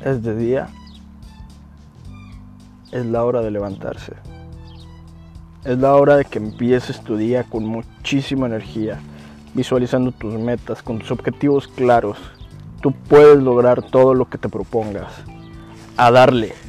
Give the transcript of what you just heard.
es de día, es la hora de levantarse. Es la hora de que empieces tu día con muchísima energía, visualizando tus metas, con tus objetivos claros. Tú puedes lograr todo lo que te propongas. A darle.